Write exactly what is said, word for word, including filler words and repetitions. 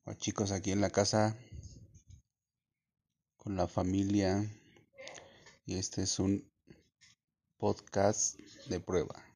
Hola chicos, aquí en la casa con la familia y este es un podcast de prueba.